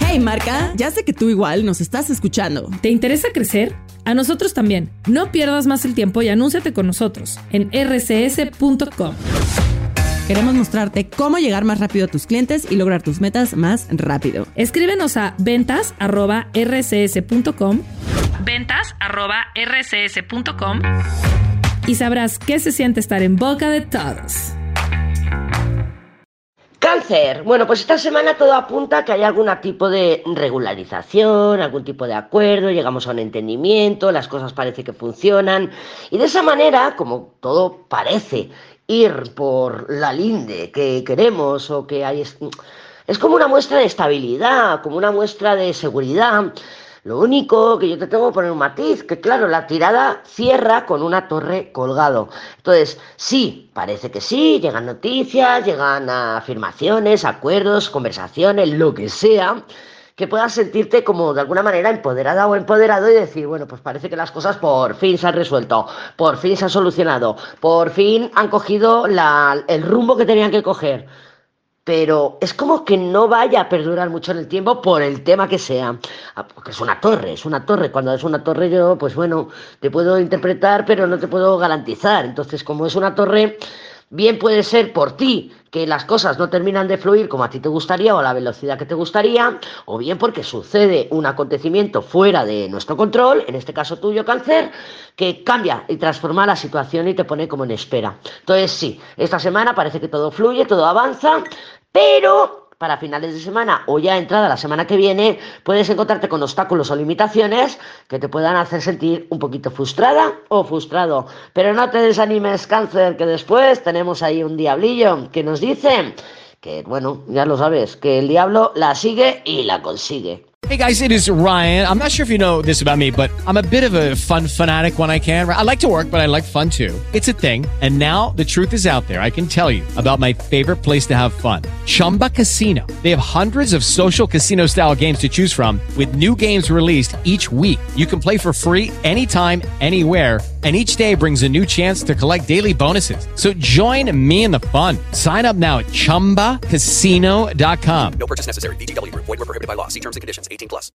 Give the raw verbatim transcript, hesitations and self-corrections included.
Hey marca, ya sé que tú igual nos estás escuchando. ¿Te interesa crecer? A nosotros también. No pierdas más el tiempo y anúnciate con nosotros en erre ce ese punto com. Queremos mostrarte cómo llegar más rápido a tus clientes y lograr tus metas más rápido. Escríbenos a ventas arroba erre ce ese punto com, ventas arroba erre ce ese punto com y sabrás qué se siente estar en boca de todos. Cáncer. Bueno, pues esta semana todo apunta a que hay algún tipo de regularización, algún tipo de acuerdo, llegamos a un entendimiento, las cosas parece que funcionan y de esa manera, como todo parece ir por la linde que queremos o que hay, es, es como una muestra de estabilidad, como una muestra de seguridad. Lo único que yo te tengo que poner un matiz, que claro, la tirada cierra con una torre colgado. Entonces, sí, parece que sí, llegan noticias, llegan afirmaciones, acuerdos, conversaciones, lo que sea, que puedas sentirte como de alguna manera empoderada o empoderado y decir, bueno, pues parece que las cosas por fin se han resuelto, por fin se han solucionado, por fin han cogido la, el rumbo que tenían que coger. Pero es como que no vaya a perdurar mucho en el tiempo por el tema que sea. Porque es una torre, es una torre. Cuando es una torre yo, pues bueno, te puedo interpretar, pero no te puedo garantizar. Entonces, como es una torre, bien puede ser por ti que las cosas no terminan de fluir como a ti te gustaría o a la velocidad que te gustaría, o bien porque sucede un acontecimiento fuera de nuestro control, en este caso tuyo, Cáncer, que cambia y transforma la situación y te pone como en espera. Entonces sí, esta semana parece que todo fluye, todo avanza, pero para finales de semana o ya entrada la semana que viene puedes encontrarte con obstáculos o limitaciones que te puedan hacer sentir un poquito frustrada o frustrado. Pero no te desanimes, Cáncer, que después tenemos ahí un diablillo que nos dice que, bueno, ya lo sabes, que el diablo la sigue y la consigue. Hey guys, it is Ryan. I'm not sure if you know this about me, but I'm a bit of a fun fanatic when I can. I like to work, but I like fun too. It's a thing. And now the truth is out there. I can tell you about my favorite place to have fun. Chumba Casino. They have hundreds of social casino style games to choose from with new games released each week. You can play for free anytime, anywhere. And each day brings a new chance to collect daily bonuses. So join me in the fun. Sign up now at chumba casino dot com. No purchase necessary. V G W Group. Void where prohibited by law. See terms and conditions. eighteen plus.